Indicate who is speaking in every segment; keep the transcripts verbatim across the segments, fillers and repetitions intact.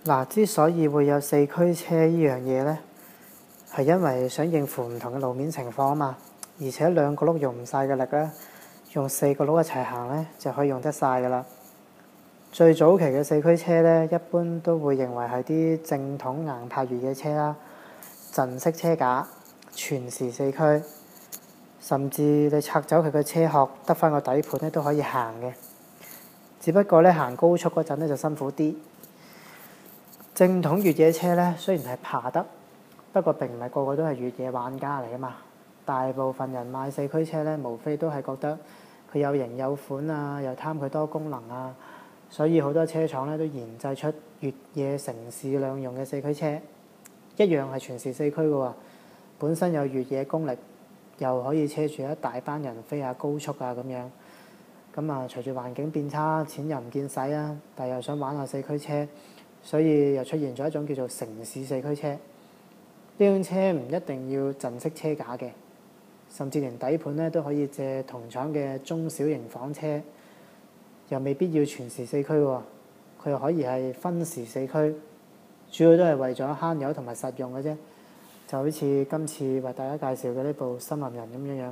Speaker 1: 嗱，之所以會有四驅車呢樣嘢呢，係因為想應付唔同嘅路面情況啊嘛。而且兩個轆用唔晒嘅力咧，用四個轆一齊行咧就可以用得晒噶啦。最早期嘅四驅車咧，一般都會認為係啲正統硬派越野車啦，陣式車架，全時四驅，甚至你拆走佢嘅車殼，得翻個底盤咧都可以行嘅。只不過咧行高速嗰陣咧就辛苦啲。正統越野車咧雖然係爬得，不過並唔係個個都係越野玩家嚟噶嘛。大部分人買四驅車咧，無非都係覺得佢有型有款啊，又貪佢多功能啊，所以好多車廠咧都研製出越野城市兩用嘅四驅車，一樣係全時四驅嘅喎，本身有越野功力，又可以車住一大班人飛下高速啊咁樣。咁啊，隨住環境變差，錢又唔見使啊，但又想玩下四驅車，所以又出現咗一種叫做城市四驅車。呢種車唔一定要陣式車架嘅，甚至連底盤咧都可以借同廠嘅中小型房車，又未必要全時四驅喎，佢又可以係分時四驅，主要都係為咗慳油同埋實用嘅啫。就好似今次為大家介紹嘅呢部森林人咁樣樣。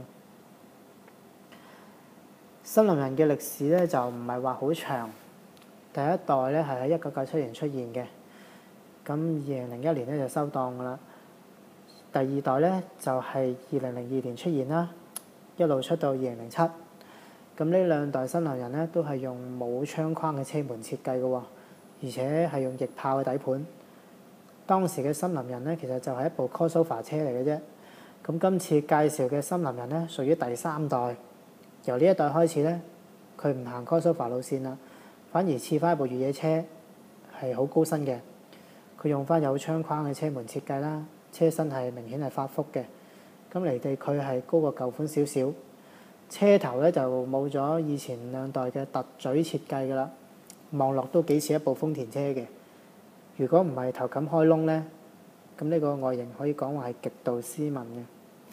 Speaker 1: 森林人嘅歷史咧就唔係話好長，第一代咧係喺一九九七年出現嘅，咁二零零一年咧就收檔噶啦。第二代咧就係二零零二年出現啦，一路出到二零零七。咁呢兩代森林人咧都係用冇窗框嘅車門設計嘅喎，而且係用翼炮嘅底盤。當時嘅森林人咧其實就係一部 crossover 車嚟嘅啫。咁今次介紹嘅森林人咧屬於第三代，由呢一代開始咧，佢唔行 crossover 路線啦，反而似翻一部越野車，係好高身嘅。佢用翻有窗框嘅車門設計啦，車身係明顯係發福嘅。咁離地佢係高過舊款少少，車頭咧就冇咗以前兩代嘅凸嘴設計㗎啦，望落都幾似一部豐田車嘅。如果唔係頭冚開窿咧，咁呢個外形可以講話係極度斯文嘅。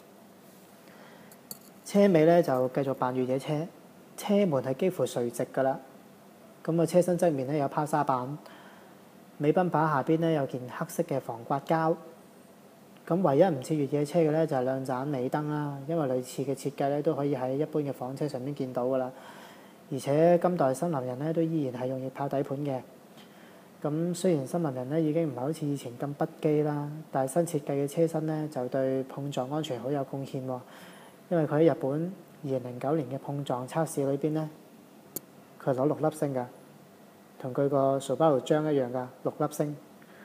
Speaker 1: 車尾咧就繼續扮越野車，車門係幾乎垂直㗎啦。咁個車身側面咧有拋沙板，尾泵把下邊咧有件黑色嘅防刮膠。咁唯一唔似越野車嘅咧就係兩盞尾燈啦，因為類似嘅設計咧都可以喺一般嘅房車上面見到㗎啦。而且今代森林人咧都依然係用翼炮底盤嘅。咁雖然森林人咧已經唔係好似以前咁不羈啦，但係新設計嘅車身咧就對碰撞安全好有貢獻喎。因為佢喺日本二零零九年嘅碰撞測試裏邊咧，佢係攞六粒星㗎，同佢個 Subaru 章一樣㗎，六粒星。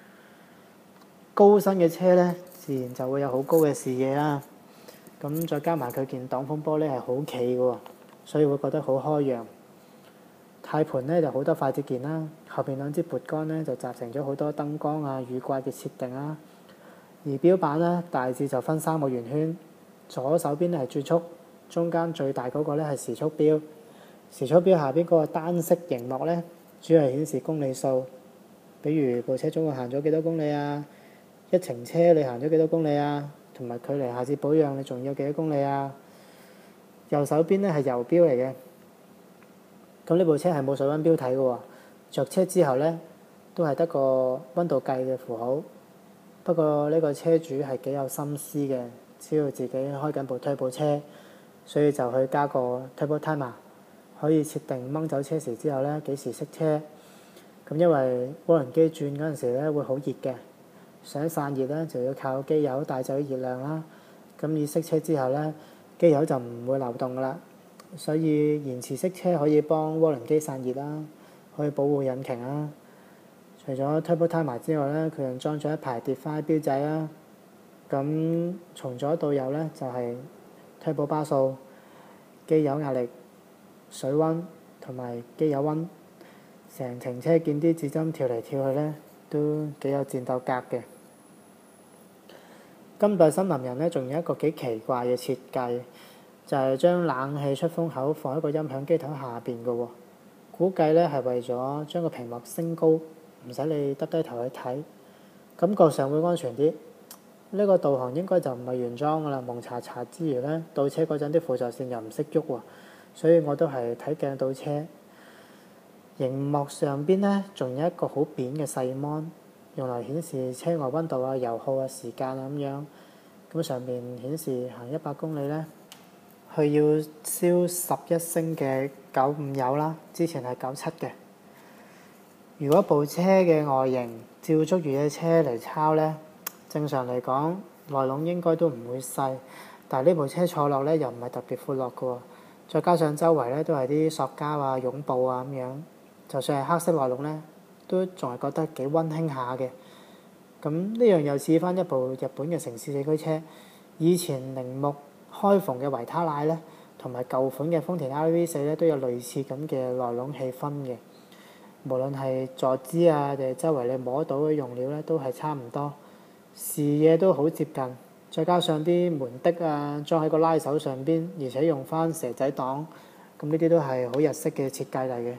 Speaker 1: 高身嘅車咧，自然就會有好高嘅視野啦。咁再加埋佢件擋風玻璃係好企嘅喎，所以會覺得好開揚。軚盤咧就好多快捷鍵啦，後邊兩支撥桿咧就集成咗好多燈光啊、雨刮嘅設定啦。儀表板咧大致就分三個圓圈，左手邊咧係轉速，中間最大嗰個咧係時速錶。時速錶下邊嗰個單色熒幕咧，主要係顯示公里數，比如部車總共行咗幾多公里啊，一程車你行咗幾多公里啊，同埋距離下次保養你仲有幾多公里啊。右手邊咧係油錶嚟嘅。咁呢部車係冇水溫錶睇嘅喎，着車之後咧都係得個溫度計嘅符號。不過呢個車主係幾有心思嘅，知道自己開緊部推步車，所以就去加個 turbo timer， 可以設定掹走車匙之後咧幾時熄車。咁因為渦輪機轉嗰陣時咧會好熱嘅，想散熱咧就要靠機油帶走啲熱量啦。咁以熄車之後咧，機油就唔會流動㗎啦。所以延遲熄車可以幫渦輪機散熱啦，可以保護引擎啦。除咗 turbo timer 之外咧，佢仲裝咗一排跌翻錶仔啦。咁從左到右咧就係、是、turbo 巴數、機油壓力、水溫同埋機油溫。成程車見啲指針跳嚟跳去咧，都幾有戰鬥格嘅。今代森林人咧仲有一個幾奇怪嘅設計。就係將冷氣出風口放喺個音響機頭下邊嘅喎，估計咧係為咗將個屏幕升高，唔使你耷低頭去睇，感覺上會安全啲。呢、這個導航應該就唔係原裝㗎啦，蒙查查之餘咧，倒車嗰陣啲輔助線又唔識喐喎，所以我都係睇鏡倒車。熒幕上邊咧仲有一個好扁嘅細芒， 用嚟顯示車外溫度啊、油耗啊、時間啊咁樣。咁上面顯示行一百公里咧，佢要燒十一升嘅九五油啦，之前係九七嘅。如果部車嘅外形照足越野車嚟抄咧，正常嚟講內籠應該都唔會細，但係呢部車坐落咧又唔係特別闊落嘅喎，再加上周圍咧都係啲塑膠啊、絨布啊咁樣，就算係黑色內籠咧，都仲係覺得幾溫馨下嘅。咁呢樣又似翻一部日本嘅城市四驅車，以前鈴木開篷嘅維他奶咧，同埋舊款嘅豐田 R V 四咧都有類似咁嘅內籠氣氛嘅。無論係坐姿啊，定係周圍你摸到嘅用料咧，都係差唔多，視野都好接近。再加上啲門的啊，裝喺個拉手上邊，而且用翻蛇仔檔，咁呢啲都係好日式嘅設計嚟嘅。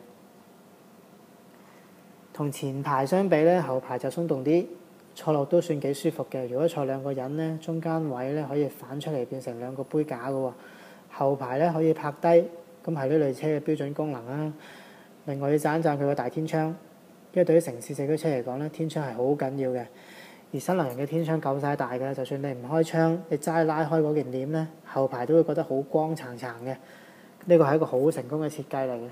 Speaker 1: 同前排相比咧，後排就鬆動啲，坐落都算幾舒服嘅。如果坐兩個人咧，中間位咧可以反出嚟變成兩個杯架嘅喎。後排咧可以拍低，咁係呢類車嘅標準功能啦。另外要讚一讚佢個大天窗，因為對於城市四驅車嚟講咧，天窗係好緊要嘅。而新能源嘅天窗夠晒大嘅，就算你唔開窗，你齋拉開嗰件簾咧，後排都會覺得好光燦燦嘅。呢個係一個好成功嘅設計嚟嘅。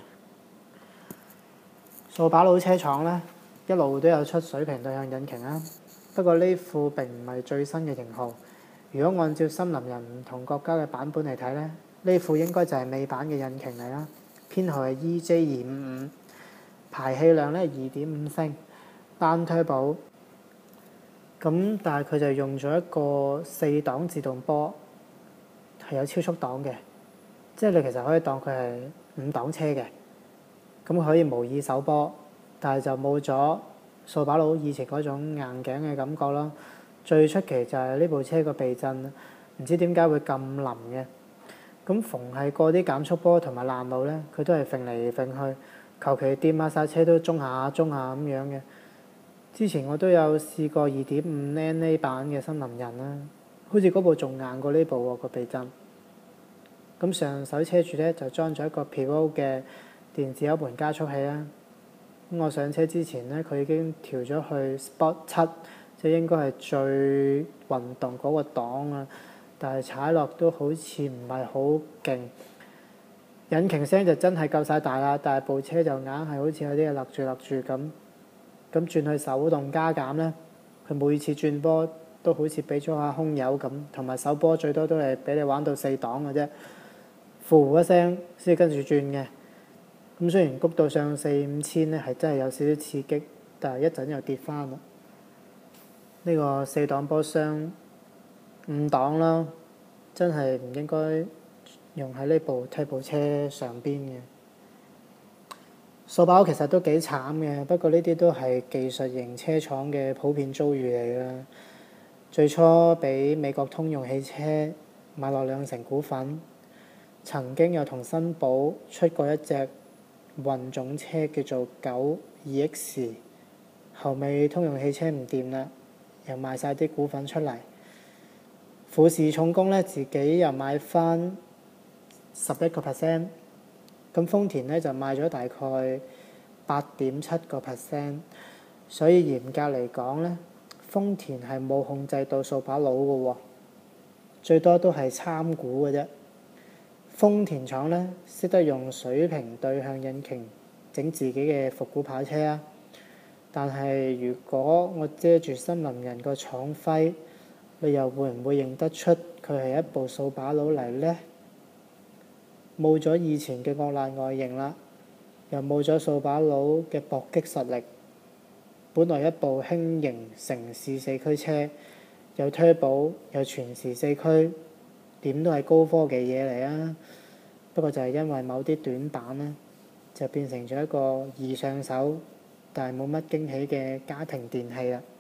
Speaker 1: 掃把佬車廠咧，一路都有出水平對向引擎啦，不過呢副並唔係最新嘅型號。如果按照森林人唔同國家嘅版本嚟睇咧，呢副應該就係尾版嘅引擎嚟啦。編號係 E J 二五五，排氣量咧二點五升，單 turbo。咁但係佢就用咗一個四檔自動波，係有超速檔嘅，即係你其實可以當佢係五檔車嘅。咁可以模擬手波，但係就冇咗掃把佬以前嗰種硬頸嘅感覺咯。最出奇就係呢部車個避震，唔知點解會咁腍嘅。咁逢係過啲減速波同埋爛路咧，佢都係揈嚟揈去，求其掂下剎車都中下中下咁樣嘅。之前我都有試過二點五 N A 版嘅森林人啦，好似嗰部仲硬過呢部喎個避震。咁上手車柱咧就裝咗一個 Pirelli 嘅電子油門加速器啦。咁我上車之前咧，佢已經調咗去 Sport 七，即係應該係最運動嗰個檔啊。但係踩落都好似唔係好勁，引擎聲就真係夠晒大啦，但係部車就硬係好似有啲嘢勒住勒住咁。咁轉去手動加減咧，佢每次轉波都好似俾咗下空油咁，同埋手波最多都係俾你玩到四檔嘅啫，呼一聲先跟住轉嘅。咁雖然谷到上四五千咧，係真係有少少刺激，但係一陣又跌翻啦。呢個四檔波箱五檔啦，真係唔應該用喺呢部 Turbo 車上邊嘅。掃把佬其實都幾慘嘅，不過呢啲都係技術型車廠嘅普遍遭遇嚟啦。最初俾美國通用汽車買落兩成股份，曾經又同新寶出過一隻混種車叫做九二 X， 後尾通用汽車唔掂啦，又賣晒啲股份出嚟。富士重工咧自己又買翻十一個 percent。咁豐田咧就賣咗大概八點七個 percent， 所以嚴格嚟講咧，豐田係冇控制到掃把佬嘅喎，最多都係參股嘅啫。豐田廠咧識得用水平對向引擎整自己嘅復古跑車啊，但係如果我遮住森林人個廠徽，你又會唔會認得出佢係一部掃把佬嚟呢？冇咗以前嘅惡爛外形啦，又冇咗掃把佬嘅搏擊實力。本來一部輕型城市四驅車，有 turbo 有全時四驅，點都係高科技嘢嚟啊！不過就係因為某啲短板呢，就變成咗一個易上手但係冇乜驚喜嘅家庭電器啦〜